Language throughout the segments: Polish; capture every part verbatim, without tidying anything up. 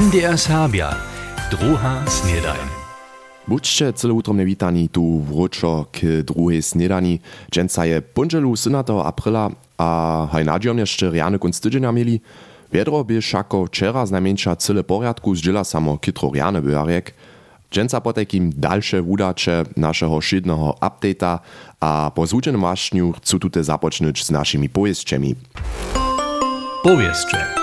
M D R Serbia, druha snedajn. Buďte celoutromne witani tu wróczo k druhej snedani. Dżęca je ponželu siedemnastego aprila a haj nadziom jeszcze riany kunc tydzienia mieli. Wiedro by šako wczera znajmniejsza cyle porядku zdziela samo kitro riany byarek. Dżęca potekim dalsze wudacze naszego szydnego update'a a po złuczenym waśniu chcą tutaj zapocznyć z naszymi powieściami. Powieście.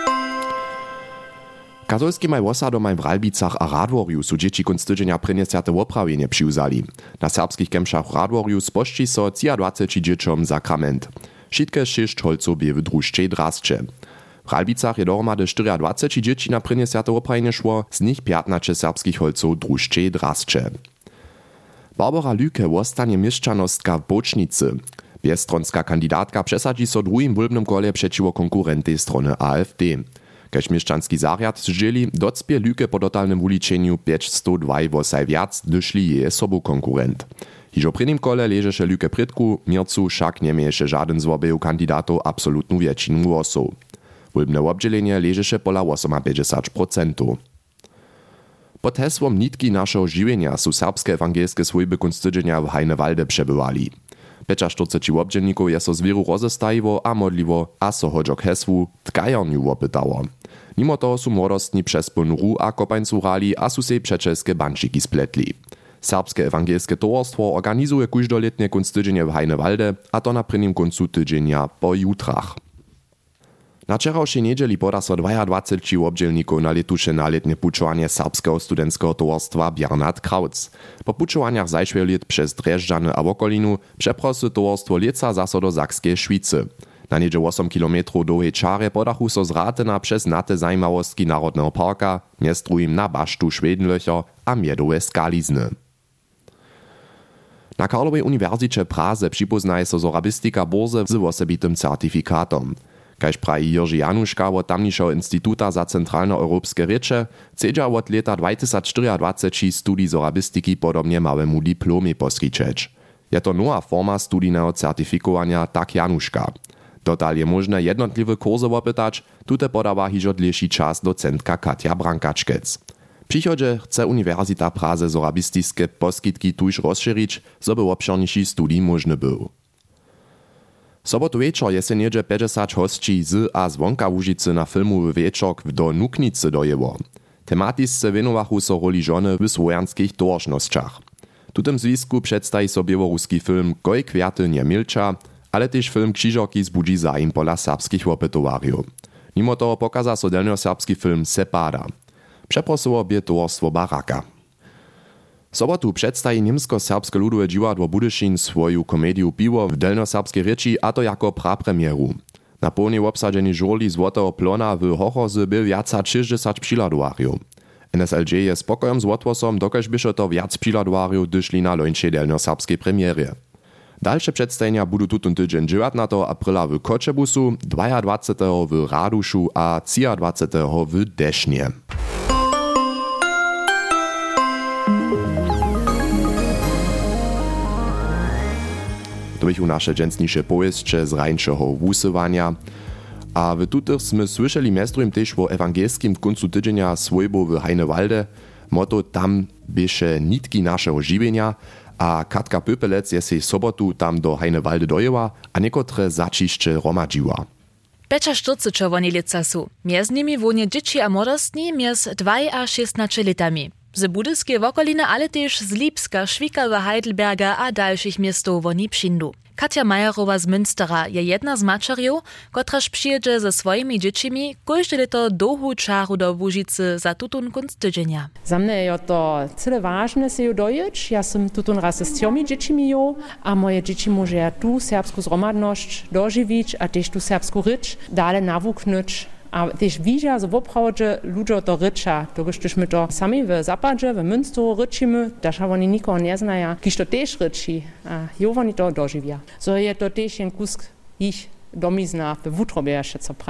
Katolski maj wosadom w Ralbicach a Radworju su dzieci kunc tydzienia prynesiate woprawienie přiwzali. Na serbskich kemšach Radworju spošči so dwadzieścia dzieciom sakrament. Wszystkie sześć holców bie w drużczej drascze. W Ralbicach je dohromady dwadzieścia cztery dzieci na prynesiate woprawienie szło, z nich piętnaście serbskich holców drużczej drascze. Barbara Lüke wostanie mieszczanostka w Bocznicy. Biestronska kandidatka przesadzi so drugim wólbnym kole przeciwko konkurentej strony A F D. Kaž mieszczanski zariad zdzieli, docpie Lüke po totalnym uliczeniu pięćset dwa wosaj wiac, dyszli je sobu konkurent. Hižo pri nim kole ležeše Lüke prytku, Mircu však nemieše žaden z obeju kandidatov absolutnu většinu głosów. Wólbne obdzielenie ležeše pola päťdesiat osem procent. Pod hesłom nitki naszego żywienia su serbskie ewangelskie swojby kunc tydzienia w Hajnewalde przebywali. czterdzieści pięć obdzielników je so zwieru rozestajiwo a modliwo a so hodžo k heswu tkajarniu wopytało. Mimo toho su młodostni przez plnuru a kopańcu rali a su sej przeczelskie bančiki spletli. Serbskie ewangelskie towarstwo organizuje kóždoletnie kunc tydzienie w Hajnewalde a to na prvním koncu tydzienia po jutrach. Na wczorajszej niedzieli poda so dwadzieścia dwa obdzielników na letuše na letnie pučovanie serbskeho studentského towarstwa Bernhard Krautz. Po pučovaniach zajšvejo let przez Drežďany a okolinu przeprosy towarstwo leca zaso do Sakskiej Švicy. Na niedzie osem kilometrów długiej czary podachu so z Ratena przez nate zajmawostki Narodnego parka, między drugim na basztu Schwedenlöcher a miedowe skalizny. Na Karlowej Uniwersycie Praze připoznaje so zorabistika burze z osobitym certifikatom. Kaž praji Jerzy Januszka od tamnišeho Instituta za centralnoeuropskie rěče, chcedža od leta dwadzieścia cztery studij zorabistiki podobnie małemu diplomie poskyčeć. Je to nowa forma studijného certifikowania, tak Januszka. Dotal je možné jednotliwe kursy opytać, tute podawa hižo dlejší čas docentka Katja Brankačkec. W przychodzie chce Uniwersita Praze zorabistiske poskytki tuż rozšírić, so by obširniejší studij možny był. Sobotu wieczor je se niedzie päťdesiat hostí z a zvonka Łužicy na filmowy wieczor do Nuknicy dojeło. Tematisce wenowachu so roli żony w swojanskich towarznościach. W tym związku przedstawi so biełoruski film Goj kwiaty nie milcza, ale też film Krzyżoki zbudzi zaim pola serbskich opytowariów. Mimo toho pokaza so delnjoserbski film Sepada. Przeprosowo bie towarstwo Baraka. Sobotu przedstawi niemsko-serbske ludowe dziwadło Budyšin swoją komediu Piwo w delnjoserbskiej rěči a to jako prapremieru. Na pełnej obsadzeni żurli Złotego Plona w Hochorze był viaca šesťdesiat přihladowarjów. N S L J je spokojom z odwosom, dokaż byše to viac přihladowarjów dyšli na lońšej delnjoserbskiej premierie. Dalsze przedstawienia budu tutun tydzień dziewiętnastego aprila w Koczebusu, dwudziestego drugiego w Raduszu a dwudziestego trzeciego w Desznie. To bychu nasze dżęsnisze powieście z rańszego wusywania. A w tutych sme słyszeli mestrum też o ewangelskim kuncu tydzienia swojbu w Hajnewalde. Motto tam bieše nitki naszego żywienia, a Katka Pöpelec je sej sobotu tam do Hajnewalde dojęła, a niekotre začišće romadžiła. czterdzieści czerwoni lica su. Między nimi wonie dzieci a młodostni między dwaj a szesnaście latami. Z budyskie wokoliny, ale też z Lipska, Švikawa, Heidelberga a dalszych miastów woni přindu. Katja Majerowa z Münstera je jedna z mačerjów, kotraż przyjedzie ze swoimi dziecimi każde leto dłuhú čaru do Łužicy za tutun kunc tydzienia. Za mnie je to cyle ważne se ju dojeć. Ja sam tutun raz z tjomi dziecimi jo, a moje dzieci może ja tu serbsku zromadność dożywić, a też tu serbsku rycz dalej nawuknąć. A też widzia, że w oprawdzie ludzie to rycza, to gdyśmy to sami w Zapadzie, w Münsteru ryczymy, też oni nikogo nie znają, kiż to też ryczy, a jo oni to dożywia. So je to też jeden kusk ich domizna w wutrobie jeszcze co prają.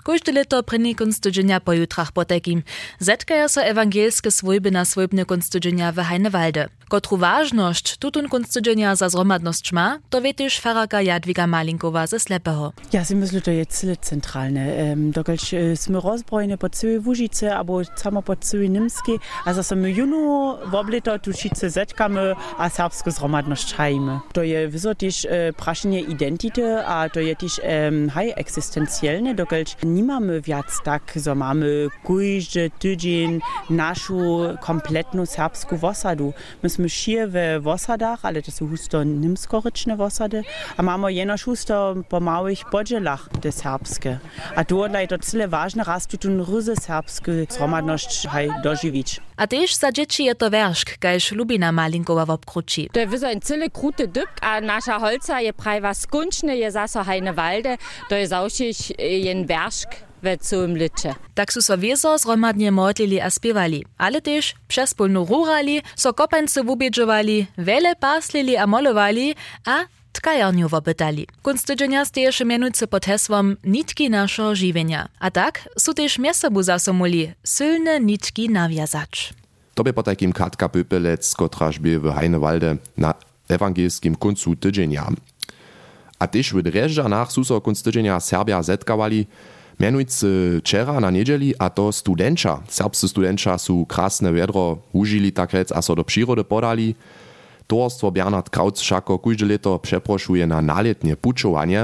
Każde leto prynny kunst tydzienia po jutrach potekim. Zetkaja so ewangelskie swojby na swojbne kunst tydzienia w Heinewalde. Kotru ważność tutun kunst tydzienia za zromadność ma, to wie też faraka Jadwiga Malinkowa ze Slepeho. Ja, si myślę, to jest cyle centralne. Um, Dokelž sme rozbrojene po całej Łužice, albo samo po całej Nimskiej, a za my juno w oblito tu wszyscy zetkamy, a serbską zromadność hajmy. To jest wyso też e, praszenie identity, a to jest też um, haj egzystencjalne, dokelž nie mamy wiac tak, że mamy każdy tydzień naszą kompletną serbską osadu. My szyje w osadach, ale to są husto nimskoryczne osady, a mamy jenoż husto po małych podzielach te serbskie. A tu odlej to tyle ważne, raz tu tun ryzy serbskie zromadność haj dożywić. A też za dzieci je to werszk, kajż Lubina Malinkowa w obkruci. To jest ein cyle kruty dyb, a nasza holca je prajwa skunczne, je zaso Heinewalde, to jest ausić jen werszk. We całym licze. Tak su so wieso zromadnie modlili a spiewali, ale też przespólnu rurali, so kopańce wubiedżowali, wiele paslili a molowali, a tkajarniu wopytali. Kunst tydzienia steješe mianujce pod hesłom nitki naszego żywienia. A tak su też miesobu zasomuli, sylne nitki nawiązać. To by po takim Katka Pöpelec, kotraż by w Heinewalde na ewangelskim kuncu tydzienia. A też w Dreżdżanach su so kunst tydzienia Serbia zetkawali, mianujcy wczera na niedzieli, a to studenča. Serbscy studenča su krasne wiadro užili tak rec, a so do przyrody podali. Towarstwo Bernhard Krautz všako kóžde leto przeprošuje na naletnie pučovanie.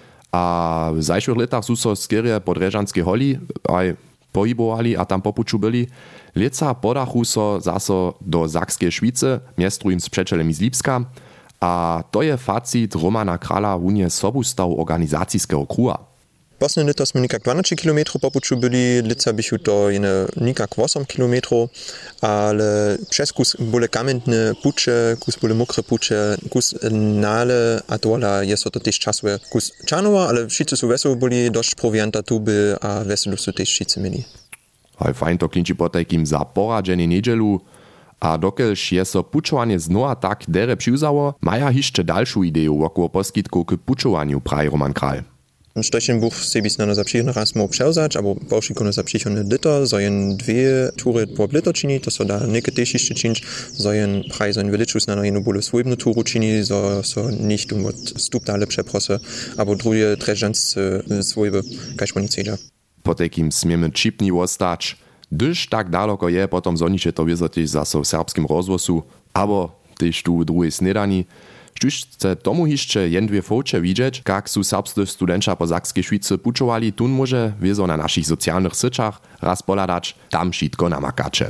A w zajszłych letach su so skierie po Drežanskej holi aj pohybovali a tam popuču byli. Leca podachu so zaso do Sakskej Švice, miestrujem z přečelem z Lipska. A to je facit Romana Krala wunie sobustaw organizacijskeho kruha. Posledné leto sme nikak dvanásť kilometrov po puču byli, lica bychu to jene nikak osem kilometrov, ale přes kus bole kamenné puče, kus bole mokre puče, kus nále a dola je so to tež časuje kus čanova, ale všice sú veselo boli, dosť provianta tu by a veselo sú tež všice mili. Aj fajn to klinči po takým za poradženie nedželu, a dokelž je so pučovanie znova tak dere přiwzało, maja hišće dalšiu ideu okolo poskitku k pučovaniu, praje Roman Kral. Stochen Buch sebis na zapřichne raz mo převzać, abo baušikone zapřichne liter, so jen dwie tury po liter čini, to so da neke tež ještě činč, so jen praj so jen veličus na jednu bole svojbnu turu čini, so, so nicht um od stup dale přeprose, abo drugie trežance svojbe, kaž oni celja. Po takým smieme čipni ostać, gdyż tak daleko je, potom zoniče to vyzotiež zaso v serbskim rozvosu, abo tež tu v druhej snedani. Štuž chce tomu hišće jen dwie foče widzieć, jak su serbscy studenča po Sakskej Švice pučovali, tun może wiezo na naszych socjalnych syczach raz poladać, tam šitko namakacze.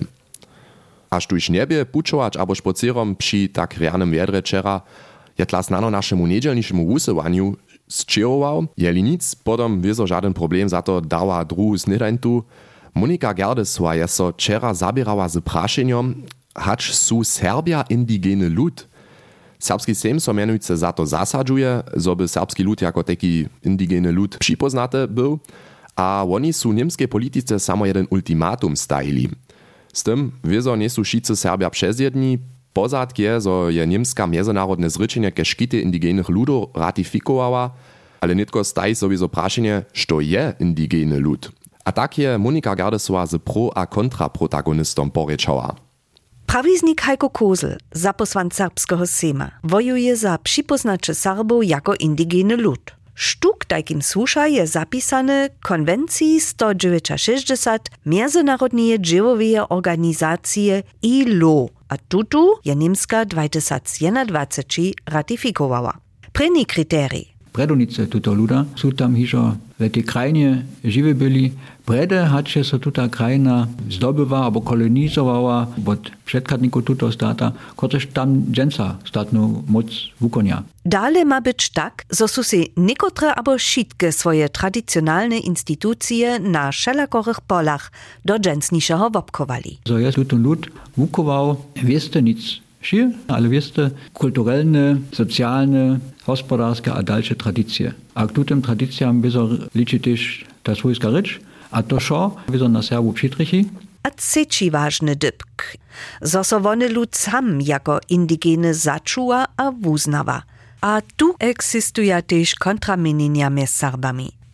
A štuž niebie pučować abo špocierom przy tak rjanym wiedre wczera, je tlas nano naszemu niedzielniszemu wusywaniu zčerował, jeli nic, potom wiezo żaden problem za to dała druhu snedańtu. Monika Gerdesła je so wczera zabierała z praszenjom, hacz su Serbia indigeny lud. Serbski sejm so mianujce za to zasadžuje, zo by serbski lud jako taki indigeny lud připoznate był, a oni su niemskiej politice samo jeden ultimatum stajili. Z tym wiezo nie su wszyscy Serbia przezjedni, pozadk je, zo je niemska międzynarodne zryczenie ke škity indigenych ludów ratifikowała, ale nitko staji sobie zo praszenie, što je indigeny lud. A tak je Monika Gerdesła z pro a kontra protagonistom porečała. Prawiznik Heiko Kozel, zaposłanc serbskiego sejma, wojuje za przypoznacze Serbów jako indigeny lud. Sztuk takim słusza je zapisane konwencji sto sześćdziesiąt Międzynarodnej dziełowej organizacji I L O, a tutu je niemska dwa tysiące dwadzieścia ratifikowała. První kryterii. Predonice tuto luda sú tam hižo v tej krajine živí byli. Prede hače sa tuta krajina zdobywa albo kolonizowała od przedkadników tuto stata, kotrež tam dženca statnu moc wukonia. Dale ma być tak, zo su si niekotre abo šitke swoje tradicjonalne instytucje na wszelakorych polach do dżensniszego wopkowali. So jest tuto lud wukował, wieste nic schier, ale wieste kulturalne, socjalne, gospodarskie a dalsze tradycje. A k tutem tradycjam byzo liczy też ta swojska rycz, a to szo, byzo na Serbu przytrychi. A trzeci ważny dybk, zo so wony lud sam jako indigeny zaczuwa a wuznawa. A tu eksistuje też kontramienienia między Serbami.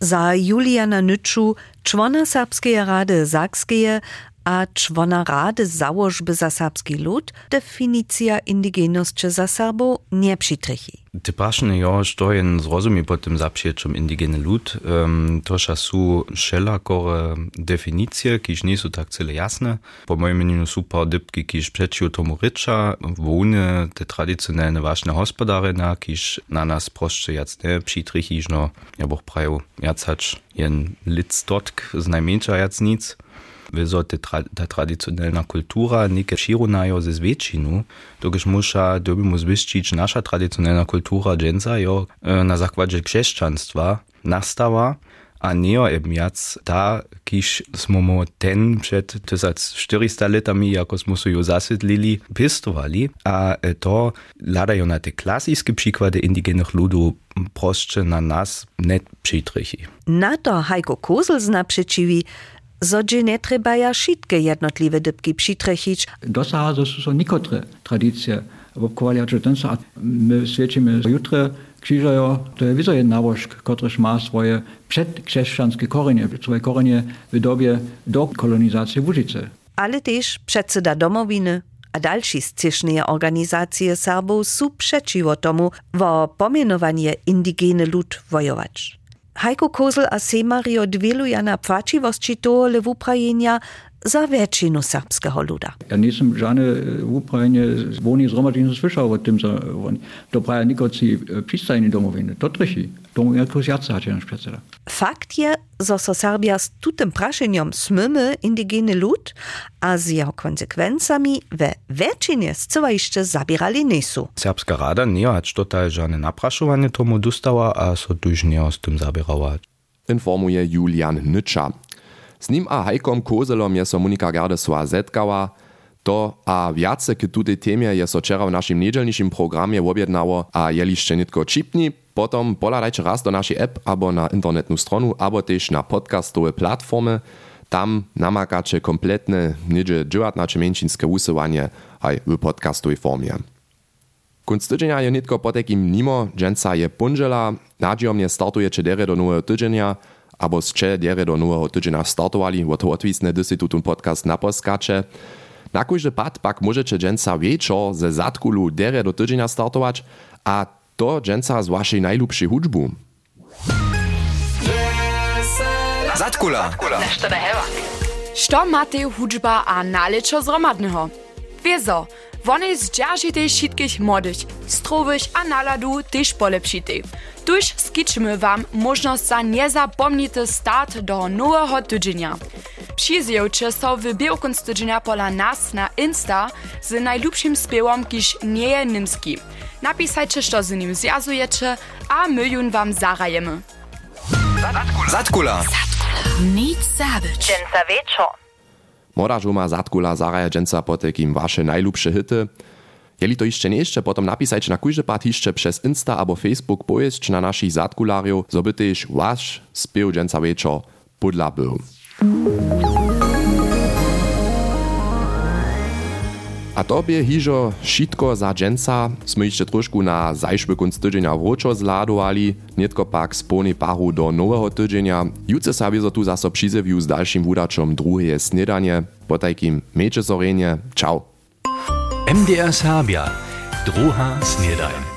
Za Juliana Nyču, człona Serbskeje Rady Sakskeje a człona Rady Założby za serbski lud, definicja indigenosće za Serbo nie przytrychi. Typašne jo, što je zrozumie pod tym zapšiečom indigene lud, um, toša su šelakore definicije, kiž nisu tak cele jasne. Po mojem meninu su par dybki, kiž přečiju tomu riča, vone te tradicionalne vašne hospodarina, kiž na nas prošće jac ne přitrichižno, ja boh praju jac hač jen lic dotk, z najmenša jac nic. Wieso tra ta traditionella kultura nike širunajo ze zvětšinu, dokiž muša dobimo zviščić nasza traditionella kultura dženca jo na zakładźe křesťanstva nastała, a neo eben jac ta, kiž smo mo ten před tysac čtyřista letami, jako smo su jo zasvětlili, pistovali, a to ladajo na te klasiske přikłady indigenych ludów prošće na nas net přitrichi. Na to Heiko Kozel zna přečivi, Zodže ne trebaja šitke jednotliwe dybki přitrechić. Dosaha są nikotre tradycje. Wopkowali tenso, a my świecimy jutre krzyżajo, to jest wizo jedna nałożk, kotryż ma swoje przedchrześcijanskie korzenie, swoje korzenie w dobie do kolonizacji Łużycy. Ale też przedseda domowiny a další střešné organizácie Serbov sú přečivo tomu vo pomenovanie indigene lud vojovač. Heiko Kozel a Semario dvěluja na płačivosti tohle wuprajenia za většinu serbského luda. Ja nisam žane wuprajenie zvoni zromadžinu slyšao o tym, to praja nikoci přistajní domoviny. To trichy. Tomu jako zjaca hače naš předseda. Fakt je, že so Serbia s tutem prašenjom smymy indigene lud a z jeho konsekvencami ve většině zcela ještě zabírali nesu. Serbska rada nie hač total žane naprašovanie tomu dostała, a so tuž nie s tym zabierała. Informuje Julian Nyča. Z nim a Hajkom Kozelom je so Monika Gardesova zetkała. To a viace k tutej temie je so včera v našim nedeľniším programie objednało, a jelište nitko čipni, potom poladajte raz do našej app abo na internetnú stronu, abo tež na podcastové platformy. Tam namakače kompletne niedzie dziewiętnaście menšinské usuwanie aj v podcastovej formie. Kunc tydzienia je nitko po takim nimo, dženca je punžela, nadziejomne startuje čedere do nového tydzienia, abo z čedere do nového tydzienia startovali, o to odvisne, gdy si tutun podcast naposkače. Na kóždy pad pak môžete dženca wieczor ze zatkulu dere do tydzienia startować, a to dženca z waszej najlubszej hudžbu. Zatkula. Što máte hudžba a nalečo zromadného? Wieso, wonej zdzierżytej všetkých młodych, strowych a naladu też polepšitej. Tuż skiczymy wam możność za niezapomnity start do nowego tydzienia. Przyzjewcie so w białkunc tydzienia pola nas na Insta z najlubszym spiewom, kiż nie je nimski. Napisajcie, co z nim zjazujecie, a my jun wam zarajemy. Zatkula. Zatkula. Nic zabyć. Dženca wieczor. Moda żuma zatkula zaraja dženca po takim wasze najlubsze hity. Jeli to jeszcze nie jeszcze, potom napisajcie na kójże part jeszcze przez Insta abo Facebook pojeść na naszych zatkulariów, zo by też wasz spiew dženca wieczor podla był. A tobie hižo šitko za dženca sme ešte trošku na zajšły kunc tydzienia vročo zladovali, netko pak spolnej paru do nového tydzienia. Jutce sa wiezo tu zaso přizewiu s dalším wudačom druheje snedanie. Po tajkim mejče zorenie. Čau. M D R Serbia. Druha snedajn.